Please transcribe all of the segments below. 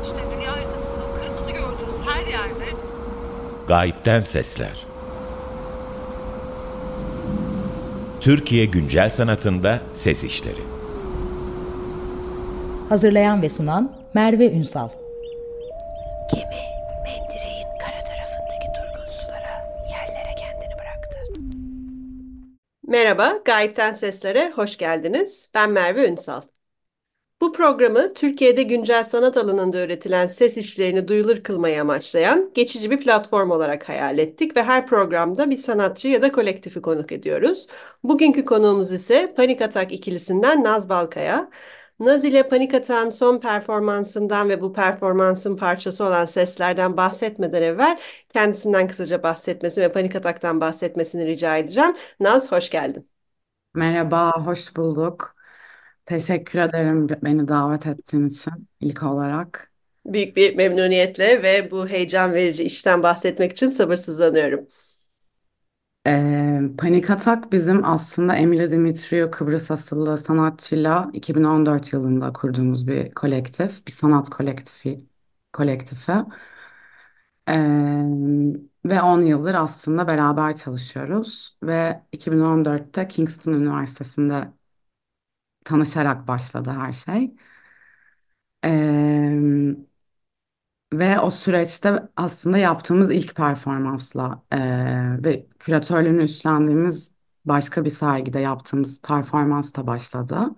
işte dünya haritasında o kırmızı gördüğünüz her yerde Gayipten Sesler. Türkiye güncel sanatında ses işleri. Hazırlayan ve sunan Merve Ünsal. Gemi mendireğin kara tarafındaki durgun sulara, yerlere kendini bıraktı. Merhaba, Gayipten Seslere hoş geldiniz. Ben Merve Ünsal. Bu programı Türkiye'de güncel sanat alanında üretilen ses işlerini duyulur kılmayı amaçlayan geçici bir platform olarak hayal ettik ve her programda bir sanatçı ya da kolektifi konuk ediyoruz. Bugünkü konuğumuz ise Panik Atak ikilisinden Naz Balkaya. Naz ile Panik Atak'ın son performansından ve bu performansın parçası olan seslerden bahsetmeden evvel kendisinden kısaca bahsetmesi ve Panik Atak'tan bahsetmesini rica edeceğim. Naz, hoş geldin. Merhaba, hoş bulduk. Teşekkür ederim beni davet ettiğin için ilk olarak. Büyük bir memnuniyetle ve bu heyecan verici işten bahsetmek için sabırsızlanıyorum. Panik Atak bizim aslında Emile Dimitriou Kıbrıs asıllı sanatçıyla 2014 yılında kurduğumuz bir kolektif, bir sanat kolektifi. Ve 10 yıldır aslında beraber çalışıyoruz ve 2014'te Kingston Üniversitesi'nde tanışarak başladı her şey. Ee, Ve o süreçte aslında yaptığımız ilk performansla ve küratörlüğünü üstlendiğimiz başka bir sergide yaptığımız performans da başladı.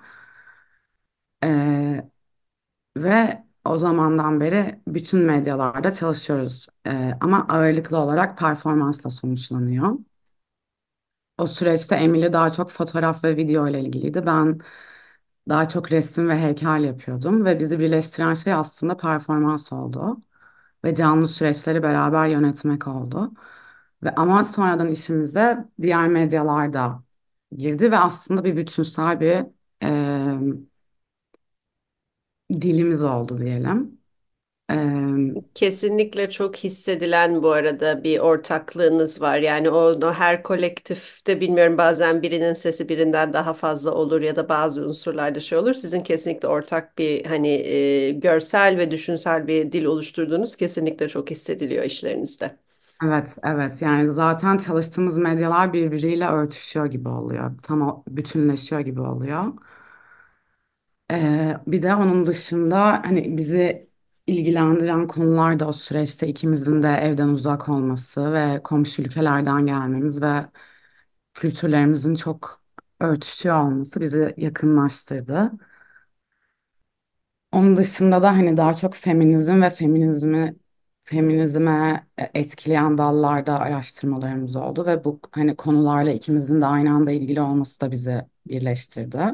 Eee, Ve o zamandan beri bütün medyalarda çalışıyoruz. Ama ağırlıklı olarak performansla sonuçlanıyor. O süreçte Emily daha çok fotoğraf ve video ile ilgiliydi. Ben daha çok resim ve heykel yapıyordum ve bizi birleştiren şey aslında performans oldu ve canlı süreçleri beraber yönetmek oldu. Ve ama sonradan işimize diğer medyalar da girdi ve aslında bir bütünsel bir dilimiz oldu diyelim. E, Kesinlikle çok hissedilen bu arada bir ortaklığınız var. Yani o her kolektifte bilmiyorum bazen birinin sesi birinden daha fazla olur ya da bazı unsurlarda şey olur. Sizin kesinlikle ortak bir hani görsel ve düşünsel bir dil oluşturduğunuz kesinlikle çok hissediliyor işlerinizde. evet, evet. Yani zaten çalıştığımız medyalar birbiriyle örtüşüyor gibi oluyor. Tam bütünleşiyor gibi oluyor. Bir de onun dışında hani bizi ilgilendiren konular da o süreçte ikimizin de evden uzak olması ve komşu ülkelerden gelmemiz ve kültürlerimizin çok örtüşüyor olması bizi yakınlaştırdı. Onun dışında da hani daha çok feminizm ve feminizme etkileyen dallarda araştırmalarımız oldu ve bu hani konularla ikimizin de aynı anda ilgili olması da bizi birleştirdi.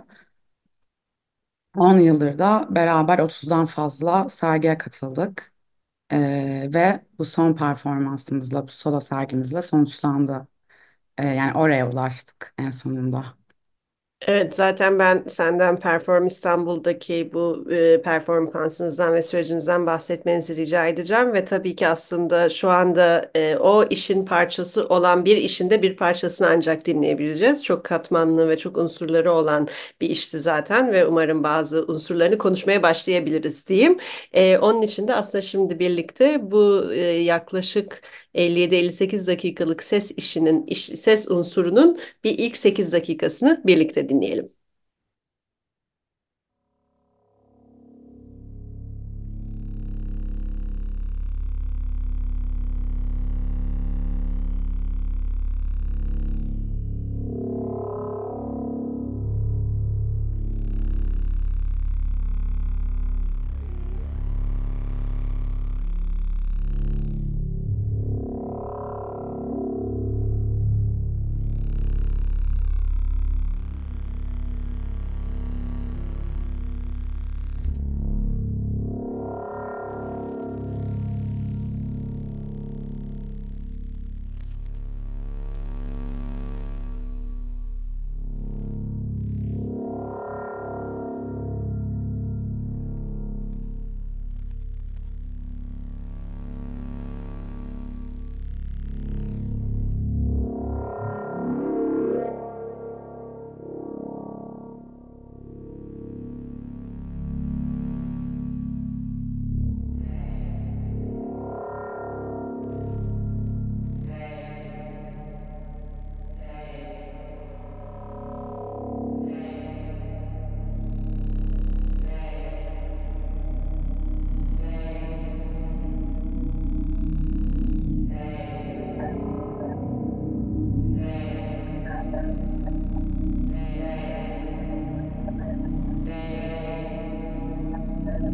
10 yıldır da beraber 30'dan fazla sergiye katıldık. Ve bu son performansımızla, bu solo sergimizle sonuçlandı. Yani oraya ulaştık en sonunda. Evet, zaten ben senden Perform İstanbul'daki bu performansınızdan ve sürecinizden bahsetmenizi rica edeceğim ve tabii ki aslında şu anda o işin parçası olan bir işin de bir parçasını ancak dinleyebileceğiz. Çok katmanlı ve çok unsurları olan bir işti zaten ve umarım bazı unsurlarını konuşmaya başlayabiliriz diyeyim. Onun için de aslında şimdi birlikte bu yaklaşık 57-58 dakikalık ses işinin, ses unsurunun bir ilk 8 dakikasını birlikte dinleyelim.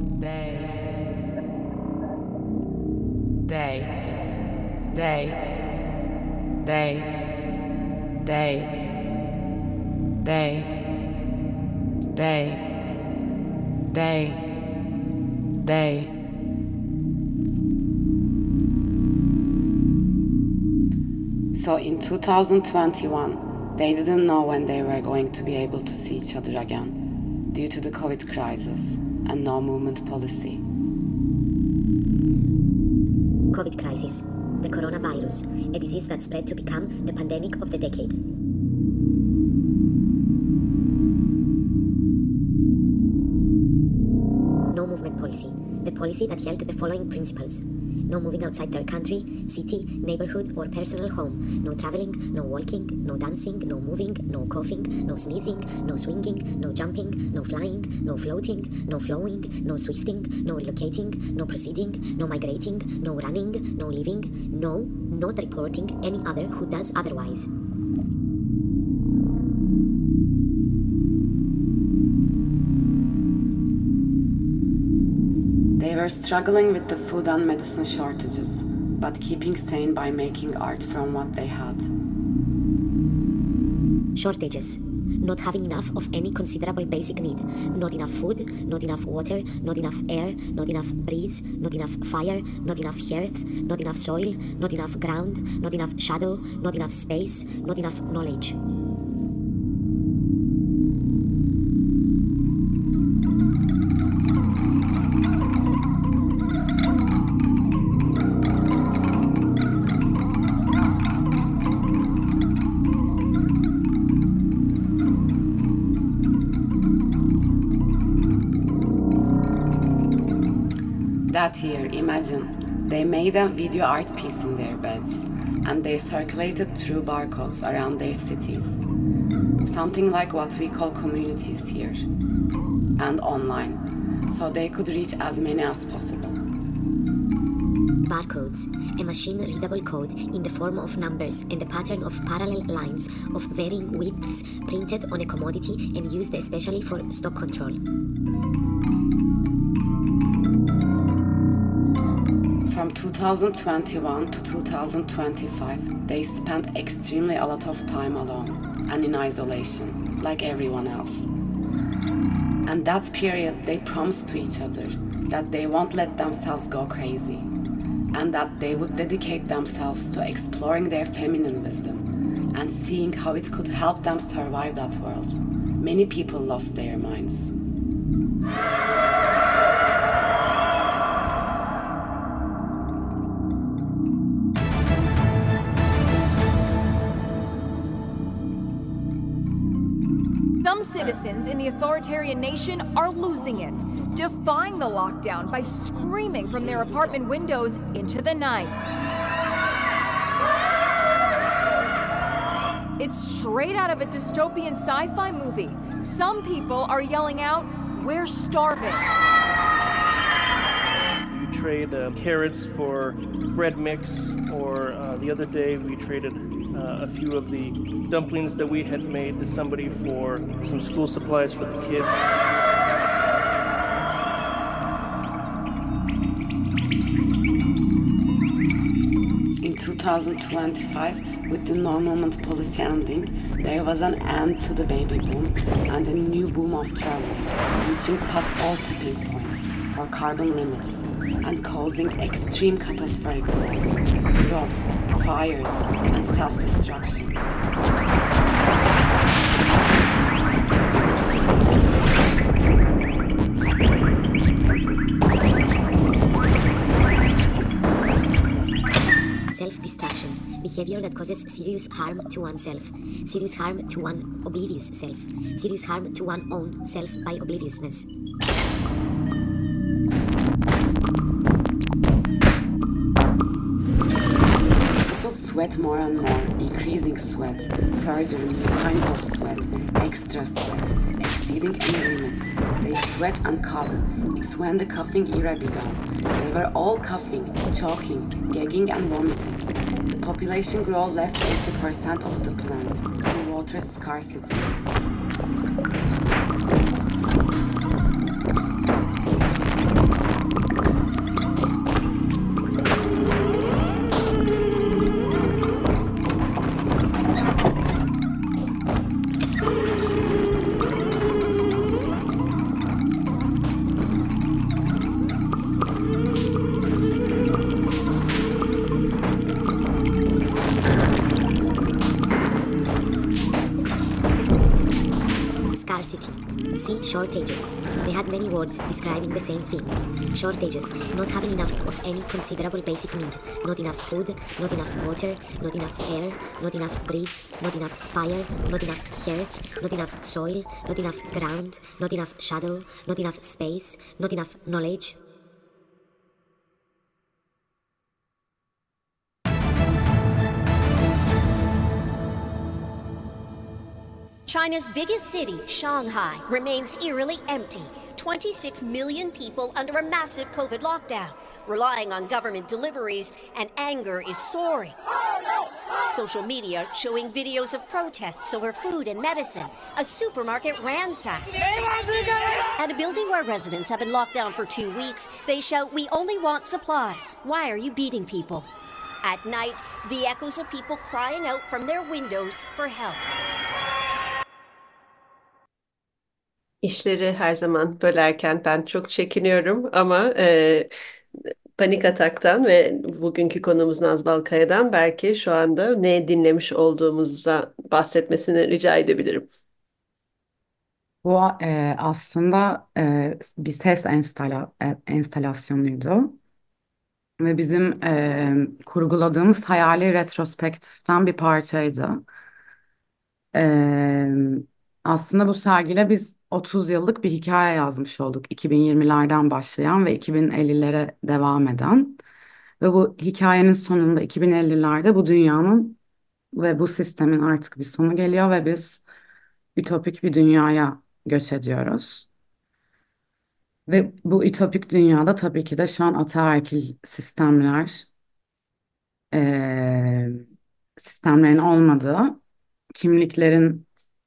So in 2021, they didn't know when they were going to be able to see each other again due to the COVID crisis and no movement policy. COVID crisis, the coronavirus, a disease that spread to become the pandemic of the decade. No movement policy, the policy that held the following principles. No moving outside their country, city, neighborhood, or personal home. No traveling, no walking, no dancing, no moving, no coughing, no sneezing, no swinging, no jumping, no flying, no floating, no flowing, no swifting, no relocating, no proceeding, no migrating, no running, no living, no, not reporting any other who does otherwise. They were struggling with the food and medicine shortages, but keeping sane by making art from what they had. Shortages. Not having enough of any considerable basic need. Not enough food, not enough water, not enough air, not enough breeze, not enough fire, not enough earth, not enough soil, not enough ground, not enough shadow, not enough space, not enough knowledge. That year, imagine, they made a video art piece in their beds, and they circulated through barcodes around their cities. Something like what we call communities here, and online, so they could reach as many as possible. Barcodes, a machine-readable code in the form of numbers and the pattern of parallel lines of varying widths printed on a commodity and used especially for stock control. From 2021 to 2025, they spent extremely a lot of time alone and in isolation, like everyone else. And that period, they promised to each other that they won't let themselves go crazy, and that they would dedicate themselves to exploring their feminine wisdom and seeing how it could help them survive that world. Many people lost their minds. Some citizens in the authoritarian nation are losing it, defying the lockdown by screaming from their apartment windows into the night. It's straight out of a dystopian sci-fi movie. Some people are yelling out, "We're starving." We trade carrots for bread mix, or the other day we traded a few of the dumplings that we had made to somebody for some school supplies for the kids. In 2025, with the no movement policy ending, there was an end to the baby boom and a new boom of travel, reaching past all tipping points for carbon limits and causing extreme catastrophic floods, droughts, fires, and self-destruction. Self-destruction, behavior that causes serious harm to oneself, serious harm to one oblivious self, serious harm to one's own self by obliviousness. Sweat more and more, increasing sweat, further new kinds of sweat, extra sweat, exceeding any limits. They sweat and cough. It's when the coughing era began. They were all coughing, choking, gagging and vomiting. The population growth left 80% of the planet in water scarcity. Shortages. They had many words describing the same thing. Shortages, not having enough of any considerable basic need. Not enough food, not enough water, not enough air, not enough breeze, not enough fire, not enough earth, not enough soil, not enough ground, not enough shadow, not enough space, not enough knowledge. China's biggest city, Shanghai, remains eerily empty. 26 million people under a massive COVID lockdown, relying on government deliveries, and anger is soaring. Social media showing videos of protests over food and medicine, a supermarket ransacked, and a building where residents have been locked down for 2 weeks. They shout, "We only want supplies. Why are you beating people?" At night, the echoes of people crying out from their windows for help. İşleri her zaman bölerken ben çok çekiniyorum ama Panik Atak'tan ve bugünkü konumuz Naz Balkaya'dan belki şu anda ne dinlemiş olduğumuza bahsetmesini rica edebilirim. Bu aslında bir ses enstalasyonuydu ve bizim kurguladığımız hayali retrospektiften bir parçaydı. E, Aslında bu sergiyle biz 30 yıllık bir hikaye yazmış olduk. 2020'lerden başlayan ve 2050'lere devam eden. Ve bu hikayenin sonunda 2050'lerde bu dünyanın ve bu sistemin artık bir sonu geliyor ve biz ütopik bir dünyaya göç ediyoruz. Ve bu ütopik dünyada tabii ki de şu an ataerkil sistemler, eee, sistemlerin olmadığı, kimliklerin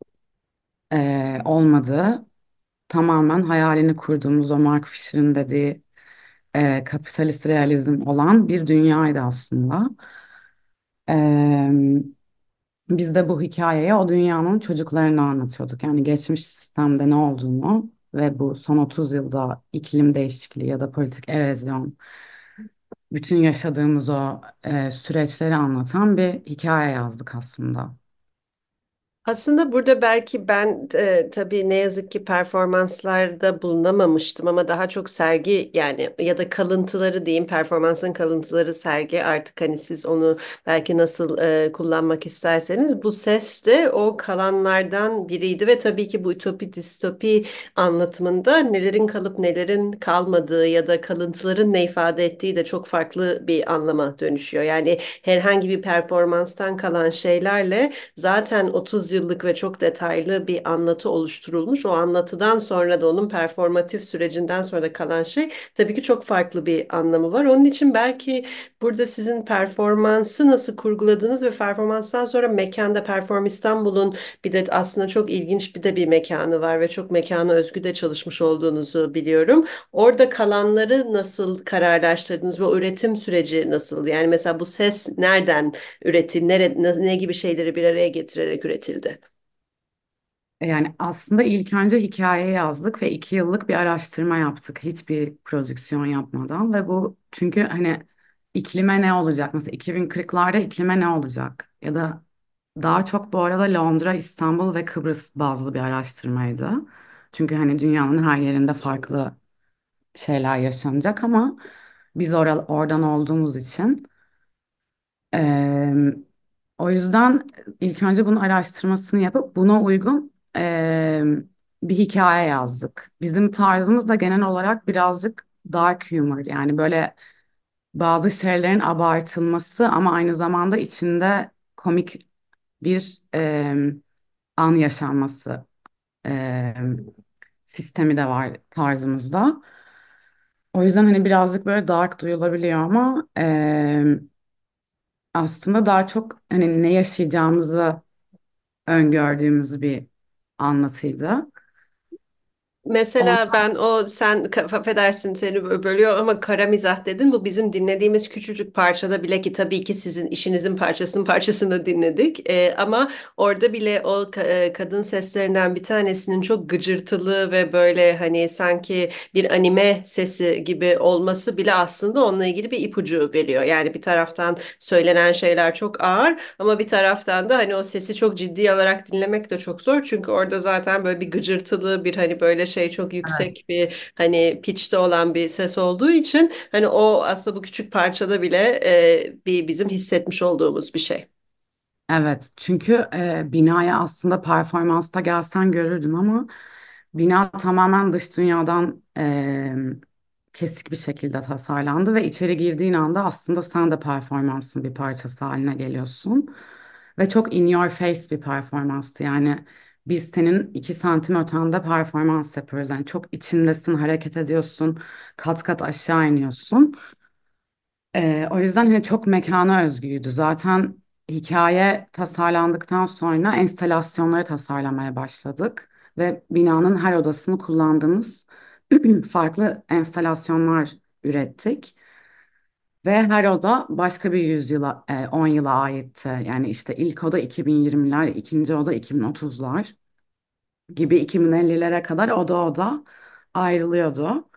olmadığı, tamamen hayalini kurduğumuz o Mark Fisher'in dediği kapitalist realizm olan bir dünyaydı aslında. Eee, Biz de bu hikayeyi o dünyanın çocuklarına anlatıyorduk. Yani geçmiş sistemde ne olduğunu ve bu son 30 yılda iklim değişikliği ya da politik erozyon, bütün yaşadığımız o süreçleri anlatan bir hikaye yazdık aslında. Aslında burada belki ben tabii ne yazık ki performanslarda bulunamamıştım ama daha çok sergi yani ya da kalıntıları diyeyim performansın kalıntıları sergi artık hani siz onu belki nasıl kullanmak isterseniz bu ses de o kalanlardan biriydi ve tabii ki bu ütopi distopi anlatımında nelerin kalıp nelerin kalmadığı ya da kalıntıların ne ifade ettiği de çok farklı bir anlama dönüşüyor. Yani herhangi bir performanstan kalan şeylerle zaten 30 yıllık ve çok detaylı bir anlatı oluşturulmuş. O anlatıdan sonra da onun performatif sürecinden sonra da kalan şey tabii ki çok farklı bir anlamı var. Onun için belki burada sizin performansı nasıl kurguladığınız ve performanstan sonra mekanda Perform İstanbul'un bir de aslında çok ilginç bir mekanı var ve çok mekana özgü de çalışmış olduğunuzu biliyorum. Orada kalanları nasıl kararlaştırdınız ve o üretim süreci nasıl? Yani mesela bu ses nereden üretildi, ne gibi şeyleri bir araya getirerek üretildi? Yani aslında ilk önce hikaye yazdık ve 2 yıllık bir araştırma yaptık hiçbir prodüksiyon yapmadan ve bu çünkü hani iklime ne olacak mesela 2040'larda iklime ne olacak ya da daha çok bu arada Londra, İstanbul ve Kıbrıs bazlı bir araştırmaydı. Çünkü hani dünyanın her yerinde farklı şeyler yaşanacak ama biz oradan olduğumuz için eee, o yüzden ilk önce bunun araştırmasını yapıp buna uygun bir hikaye yazdık. Bizim tarzımız da genel olarak birazcık dark humor yani böyle bazı şeylerin abartılması ama aynı zamanda içinde komik bir an yaşanması sistemi de var tarzımızda. O yüzden hani birazcık böyle dark duyulabiliyor ama aslında daha çok hani ne yaşayacağımızı öngördüğümüz bir anlatıydı. Mesela Ondan ben o sen affedersin seni bölüyor ama kara mizah dedin. Bu bizim dinlediğimiz küçücük parçada bile ki tabii ki sizin işinizin parçasını dinledik. Ama orada bile o kadın seslerinden bir tanesinin çok gıcırtılı ve böyle hani sanki bir anime sesi gibi olması bile aslında onunla ilgili bir ipucu veriyor. Yani bir taraftan söylenen şeyler çok ağır ama bir taraftan da hani o sesi çok ciddi alarak dinlemek de çok zor. Çünkü orada zaten böyle bir gıcırtılı bir hani böyle şey çok yüksek bir hani pitch'te olan bir ses olduğu için hani o aslında bu küçük parçada bile bir bizim hissetmiş olduğumuz bir şey. Evet, çünkü binaya aslında performansta gelsen görürdün ama bina tamamen dış dünyadan kesik bir şekilde tasarlandı ve içeri girdiğin anda aslında sen de performansın bir parçası haline geliyorsun. Ve çok in your face bir performanstı. Yani biz senin 2 santim ötende performans yapıyoruz. Yani çok içindesin, hareket ediyorsun, kat kat aşağı iniyorsun. O yüzden hani çok mekana özgüydü. Zaten hikaye tasarlandıktan sonra enstalasyonları tasarlamaya başladık ve binanın her odasını kullandığımız farklı enstalasyonlar ürettik. Ve her oda başka bir yüzyıla, 10 yıla aitti. Yani işte ilk oda 2020'ler, ikinci oda 2030'lar gibi 2050'lere kadar oda oda ayrılıyordu.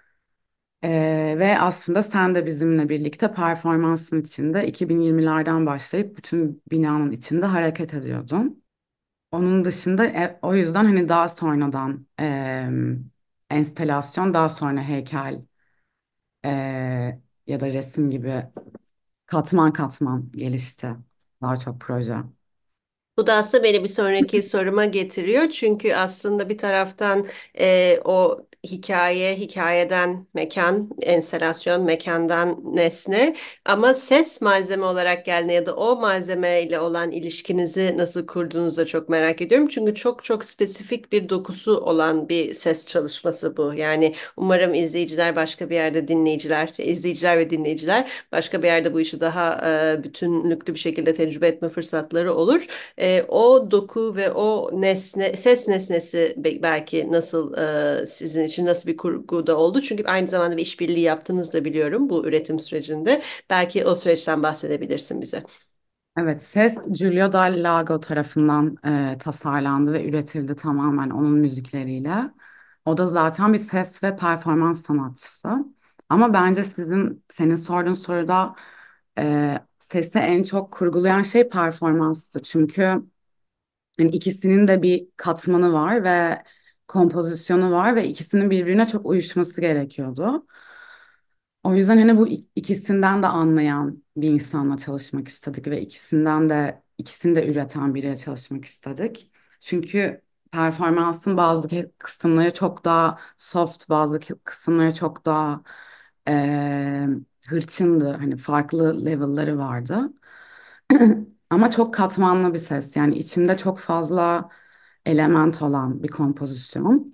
Ve aslında sen de bizimle birlikte performansın içinde 2020'lerden başlayıp bütün binanın içinde hareket ediyordun. Onun dışında o yüzden hani daha sonradan enstelasyon, daha sonra heykel ya da resim gibi katman katman gelişti. Daha çok proje. Bu da aslında beni bir sonraki soruma getiriyor. Çünkü aslında bir taraftan o hikaye, hikayeden mekan, enstelasyon, mekandan nesne ama ses malzeme olarak geldiğinde ya da o malzemeyle olan ilişkinizi nasıl kurduğunuzu da çok merak ediyorum. Çünkü çok çok spesifik bir dokusu olan bir ses çalışması bu. Yani umarım izleyiciler başka bir yerde dinleyiciler, izleyiciler ve dinleyiciler başka bir yerde bu işi daha bütünlüklü bir şekilde tecrübe etme fırsatları olur. O doku ve o nesne, ses nesnesi belki nasıl sizin için nasıl bir kurguda oldu? Çünkü aynı zamanda bir işbirliği yaptığınızı da biliyorum bu üretim sürecinde. Belki o süreçten bahsedebilirsin bize. Evet, ses Giulio Dal Lago tarafından tasarlandı ve üretildi tamamen onun müzikleriyle. O da zaten bir ses ve performans sanatçısı. Ama bence senin sorduğun soruda sesi en çok kurgulayan şey performanstı. Çünkü yani ikisinin de bir katmanı var ve kompozisyonu var ve ikisinin birbirine çok uyuşması gerekiyordu. O yüzden hani bu ikisinden de anlayan bir insanla çalışmak istedik ve ikisini de üreten biriyle çalışmak istedik. Çünkü performansın bazı kısımları çok daha soft, bazı kısımları çok daha eee, hırçındı. Hani farklı level'ları vardı. Ama çok katmanlı bir ses. Yani içinde çok fazla element olan bir kompozisyon.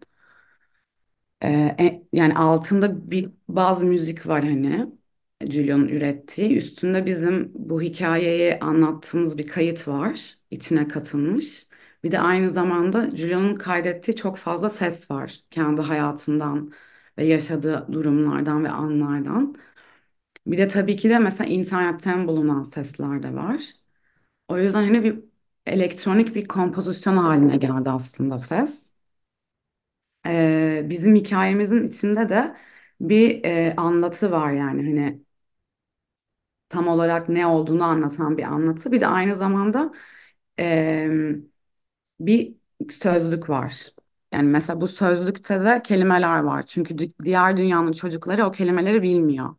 Yani altında bazı müzik var hani Julio'nun ürettiği. Üstünde bizim bu hikayeyi anlattığımız bir kayıt var. İçine katılmış. Bir de aynı zamanda Julio'nun kaydettiği çok fazla ses var. Kendi hayatından ve yaşadığı durumlardan ve anlardan. Bir de tabii ki de mesela internetten bulunan sesler de var. O yüzden hani bir elektronik bir kompozisyon haline geldi aslında ses. Bizim hikayemizin içinde de bir anlatı var yani hani tam olarak ne olduğunu anlatan bir anlatı. Bir de aynı zamanda e, bir sözlük var. Yani mesela bu sözlükte de kelimeler var. Çünkü diğer dünyanın çocukları o kelimeleri bilmiyor.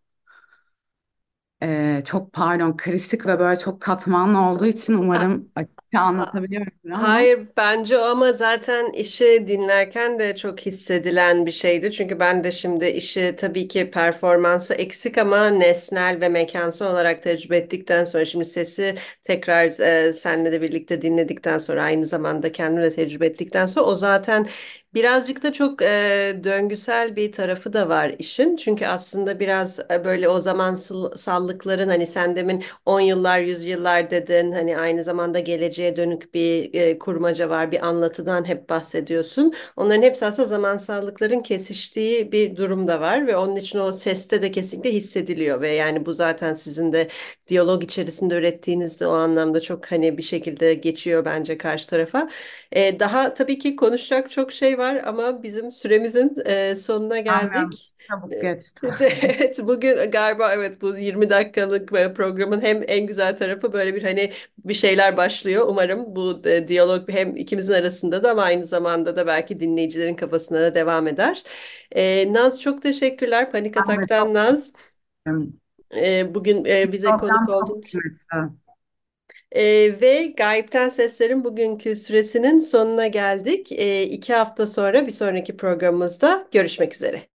Çok pardon karışık ve böyle çok katmanlı olduğu için umarım açıkça anlatabiliyorum ama. Hayır bence o ama zaten işi dinlerken de çok hissedilen bir şeydi. Çünkü ben de şimdi işi tabii ki performansı eksik ama nesnel ve mekansal olarak tecrübe ettikten sonra şimdi sesi tekrar seninle de birlikte dinledikten sonra aynı zamanda kendim de tecrübe ettikten sonra o zaten birazcık da çok döngüsel bir tarafı da var işin. Çünkü aslında biraz böyle o zamansallıkların hani sen demin 10 yıllar, 100 yıllar dedin. Hani aynı zamanda geleceğe dönük bir kurmaca var, bir anlatıdan hep bahsediyorsun. Onların hepsi aslında zamansallıkların kesiştiği bir durum da var ve onun için o seste de kesinlikle hissediliyor ve yani bu zaten sizin de diyalog içerisinde ürettiğinizde o anlamda çok hani bir şekilde geçiyor bence karşı tarafa. Daha tabii ki konuşacak çok şey var var ama bizim süremizin sonuna Aynen. geldik. Çabuk geçti. Evet, bugün galiba evet bu 20 dakikalık programın hem en güzel tarafı böyle bir hani bir şeyler başlıyor. Umarım bu diyalog hem ikimizin arasında da ama aynı zamanda da belki dinleyicilerin kafasına da devam eder. Naz çok teşekkürler. Panik Ben de çok Atak'tan Naz. isterim. Bugün bize konuk Program oldun. çok kıymetli. Ve Gayipten Sesler'in bugünkü süresinin sonuna geldik. 2 hafta sonra bir sonraki programımızda görüşmek üzere.